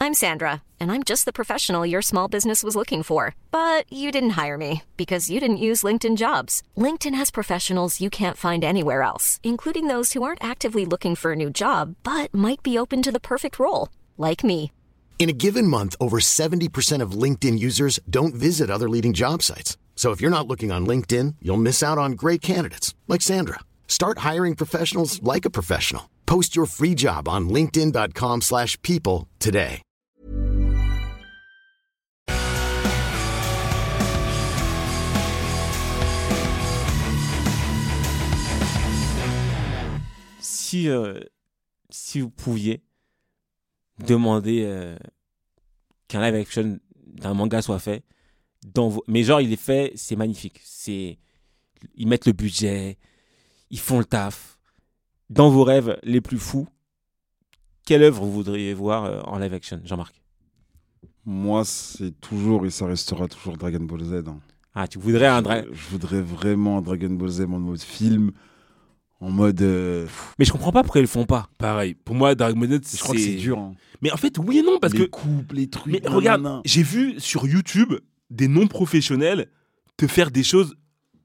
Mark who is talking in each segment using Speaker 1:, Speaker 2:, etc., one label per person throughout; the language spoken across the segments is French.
Speaker 1: I'm Sandra, and I'm just the professional your small business was looking for. But you didn't hire me because you didn't use LinkedIn Jobs. LinkedIn has professionals you can't find anywhere else, including those who aren't actively looking for a new job, but might be open to the perfect role, like me.
Speaker 2: In a given month, over 70% of LinkedIn users don't visit other leading job sites. So if you're not looking on LinkedIn, you'll miss out on great candidates like Sandra. Start hiring professionals like a professional. Post your free job on linkedin.com/people today.
Speaker 3: Si vous pouviez demander qu'un live action d'un manga soit fait, mais genre il est fait, c'est magnifique. Ils mettent le budget, ils font le taf. Dans vos rêves les plus fous, quelle œuvre vous voudriez voir en live action, Jean-Marc?
Speaker 4: Moi, c'est toujours et ça restera toujours Dragon Ball Z. Hein.
Speaker 3: Ah, tu voudrais
Speaker 4: Je voudrais vraiment un Dragon Ball Z en mode film, en mode...
Speaker 3: Mais je comprends pas pourquoi ils le font pas.
Speaker 5: Pareil, pour moi, Dragon Ball Z,
Speaker 4: je crois que c'est dur. Hein.
Speaker 5: Mais en fait, oui et non, parce
Speaker 4: les
Speaker 5: que...
Speaker 4: coupes, les trucs...
Speaker 5: Mais regarde, j'ai vu sur YouTube des non-professionnels te faire des choses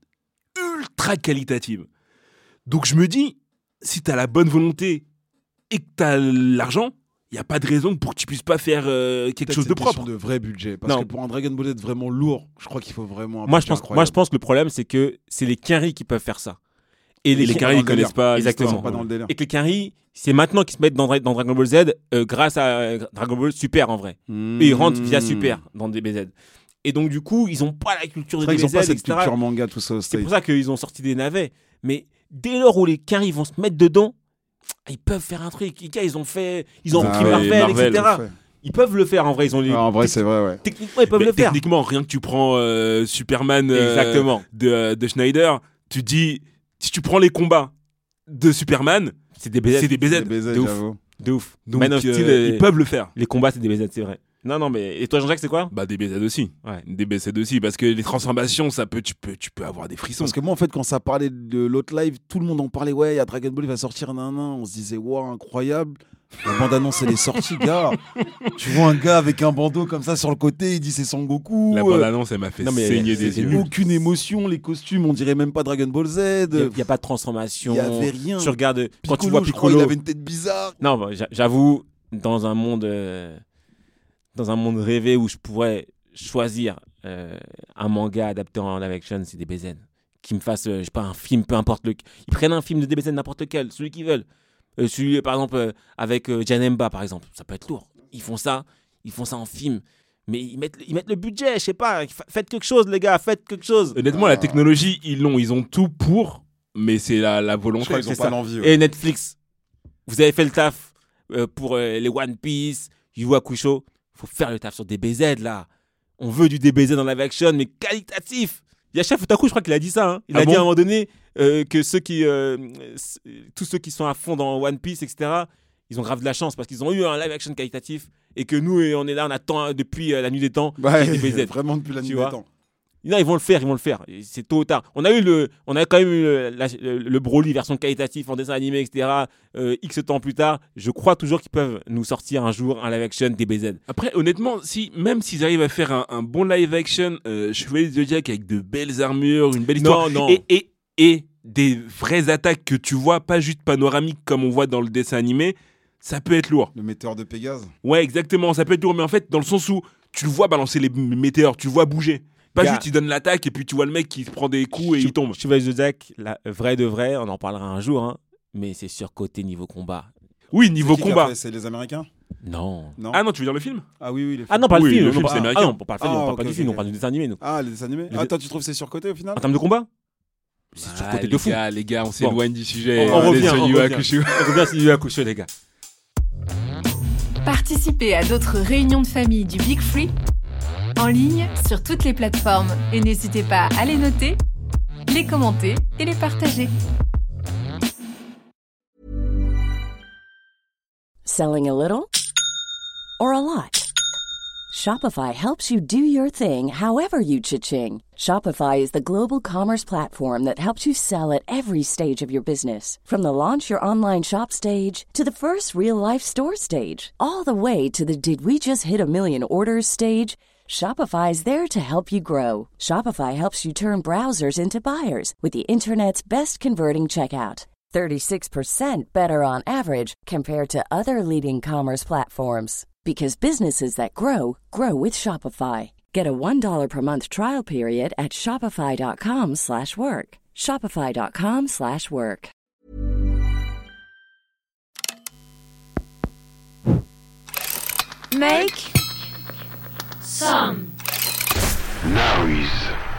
Speaker 5: ultra qualitatives. Donc je me dis, si t'as la bonne volonté et que t'as l'argent, il n'y a pas de raison pour que tu puisses pas faire quelque chose de propre.
Speaker 4: De vrai budget. Parce que pour un Dragon Ball Z vraiment lourd, je crois qu'il faut vraiment un
Speaker 3: moi, je pense que le problème, c'est que c'est les Quinry qui peuvent faire ça.
Speaker 5: Et les Quinry, ils connaissent pas.
Speaker 3: Exactement.
Speaker 4: Pas dans le délire.
Speaker 3: Et que les Quinry, c'est maintenant qu'ils se mettent dans Dragon Ball Z grâce à Dragon Ball Super en vrai. Et ils rentrent via Super dans DBZ. Et donc, du coup, ils n'ont pas la culture de DBZ,
Speaker 4: ils n'ont pas cette
Speaker 3: etc.
Speaker 4: culture manga, tout ça.
Speaker 3: C'est pour ça qu'ils ont sorti des navets. Mais dès lors où les Quinry vont se mettre dedans, ils peuvent faire un truc. Ils ont repris Marvel, etc. Ils peuvent le faire en vrai.
Speaker 4: En vrai, c'est vrai, ouais.
Speaker 3: Techniquement, ils peuvent le faire.
Speaker 5: Techniquement, rien que tu prends Superman de Schneider, tu dis, si tu prends les combats de Superman,
Speaker 3: c'est des BZ.
Speaker 5: C'est des BZ.
Speaker 3: De ouf.
Speaker 5: Donc, ils peuvent le faire.
Speaker 3: Les combats, c'est des BZ, c'est vrai. Non, mais et toi, Jean-Jacques, c'est quoi?
Speaker 5: Bah, des BZ aussi.
Speaker 3: Ouais.
Speaker 5: Des BZ aussi, parce que les transformations, tu peux avoir des frissons.
Speaker 4: Parce que moi, en fait, quand ça parlait de l'autre live, tout le monde en parlait. Ouais, il y a Dragon Ball, il va sortir, On se disait, wow, incroyable. La bande-annonce, elle est sortie, gars. Tu vois un gars avec un bandeau comme ça sur le côté, il dit c'est Son Goku.
Speaker 5: La bande-annonce, elle m'a fait saigner des yeux.
Speaker 4: Aucune émotion, les costumes, on dirait même pas Dragon Ball Z.
Speaker 3: Il n'y a pas de transformation.
Speaker 4: Il n'y avait rien.
Speaker 3: Tu regardes,
Speaker 4: Piccolo,
Speaker 3: quand tu vois Piccolo,
Speaker 4: il avait une tête bizarre.
Speaker 3: Non, bah, j'avoue, dans un monde rêvé où je pourrais choisir un manga adapté en live action, c'est des DBZ. Qui me fassent, je sais pas, un film, peu importe Ils prennent un film de DBZ, n'importe lequel, celui qu'ils veulent. Celui, par exemple, avec Janemba, par exemple. Ça peut être lourd. Ils font ça en film. Mais ils mettent le budget, je sais pas. Faites quelque chose, les gars, faites quelque chose.
Speaker 5: Honnêtement, la technologie, ils ont tout pour, mais c'est la volonté.
Speaker 4: Je crois qu'ils ont pas l'envie.
Speaker 3: Et Netflix, vous avez fait le taf pour les One Piece, Yu Hakusho. Faut faire le taf sur DBZ, là. On veut du DBZ dans live action, mais qualitatif. Yasha Futaku, je crois qu'il a dit ça. Hein. Il a dit à un moment donné que tous ceux qui sont à fond dans One Piece, etc., ils ont grave de la chance parce qu'ils ont eu un live action qualitatif et que nous, on est là, on attend depuis la nuit des temps.
Speaker 4: DBZ. Vraiment depuis la nuit des temps.
Speaker 3: Non, ils vont le faire. C'est tôt ou tard. On a quand même eu le Broly version qualitatif en dessin animé, etc. X temps plus tard. Je crois toujours qu'ils peuvent nous sortir un jour un live action DBZ.
Speaker 5: Après, honnêtement, même s'ils arrivent à faire un bon live action Chevalier du Zodiac avec de belles armures, une belle histoire, et des vraies attaques que tu vois, pas juste panoramiques comme on voit dans le dessin animé, ça peut être lourd.
Speaker 4: Le météore de Pégase.
Speaker 5: Ouais, exactement. Ça peut être lourd, mais en fait, dans le sens où tu le vois balancer les météores, tu le vois bouger. Pas juste, il donne l'attaque et puis tu vois le mec qui se prend des coups et il tombe.
Speaker 3: Chevalier du Zodiac, vrai de vrai, on en parlera un jour, hein, mais c'est surcoté niveau combat.
Speaker 5: Oui, niveau combat.
Speaker 4: C'est les Américains ?
Speaker 3: Non.
Speaker 5: Ah non, tu veux dire le film ?
Speaker 4: Ah oui, les films.
Speaker 3: Ah non, pas le film.
Speaker 5: Le film, c'est américain.
Speaker 3: Ah non, on parle pas du film, on parle du dessin animé, nous.
Speaker 4: Ah, les dessins animés. Toi, tu trouves que c'est surcoté au final ?
Speaker 3: En termes de combat ? C'est surcoté de fou.
Speaker 5: Les gars, on s'éloigne du sujet.
Speaker 3: On revient sur Yu Hakusho, les gars.
Speaker 6: Participez à d'autres réunions de famille du Big Free en ligne sur toutes les plateformes et n'hésitez pas à les noter, les commenter et les partager.
Speaker 7: Selling a little or a lot? Shopify helps you do your thing however you cha-ching. Shopify is the global commerce platform that helps you sell at every stage of your business. From the launch your online shop stage to the first real-life store stage, all the way to the did we just hit a million orders stage. Shopify is there to help you grow. Shopify helps you turn browsers into buyers with the internet's best converting checkout. 36% better on average compared to other leading commerce platforms. Because businesses that grow, grow with Shopify. Get a $1 per month trial period at shopify.com/work. Shopify.com/work.
Speaker 6: Make
Speaker 8: Some noise.